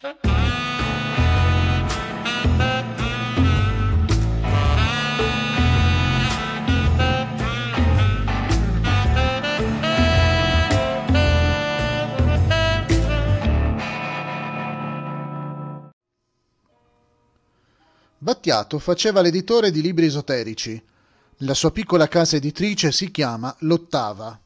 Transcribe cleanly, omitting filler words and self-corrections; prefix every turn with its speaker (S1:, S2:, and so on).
S1: Battiato faceva l'editore di libri esoterici. La sua piccola casa editrice si chiama L'Ottava.